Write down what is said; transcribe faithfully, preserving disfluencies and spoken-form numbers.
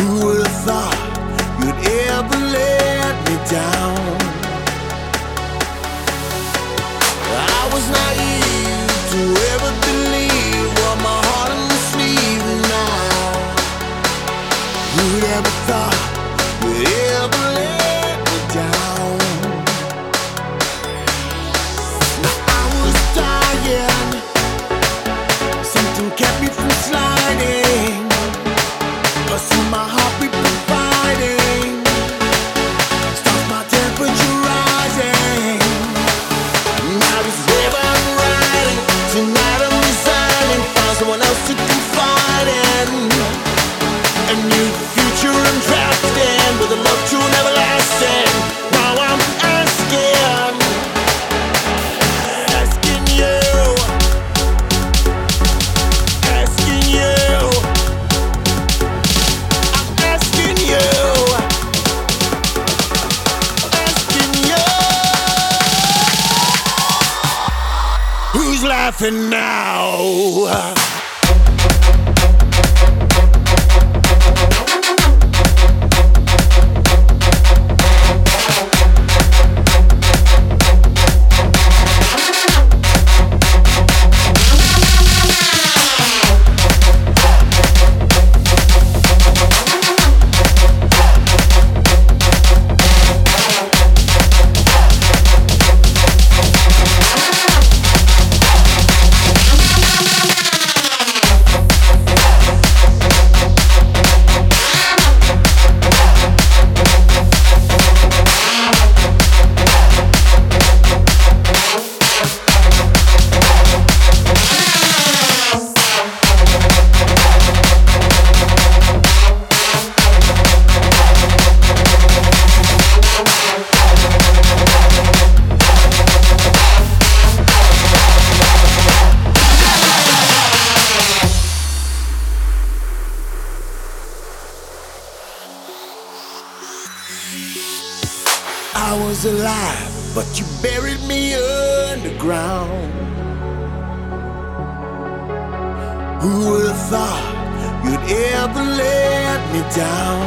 Who would have thought you'd ever let me down? I was naive to ever believe what my heart on the sleeve now. Who'd ever thought you'd ever let me down? Now I was dying, something kept me from sliding. I see my heartbeat fighting, stops my temperature rising. Now this wave I'm riding, tonight I'm resigning, find someone else to confide in. A new future I'm drafting, with a love true and everlasting. Now I'm asking, asking you, asking you. Asking you, asking you, who's laughing now? I was alive, but you buried me underground. Who would have thought you'd ever let me down?